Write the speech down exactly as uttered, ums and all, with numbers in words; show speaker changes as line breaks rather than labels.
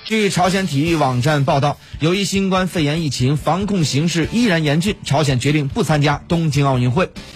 据朝鲜体育网站报道，由于新冠肺炎疫情防控形势依然严峻，朝鲜决定不参加东京奥运会。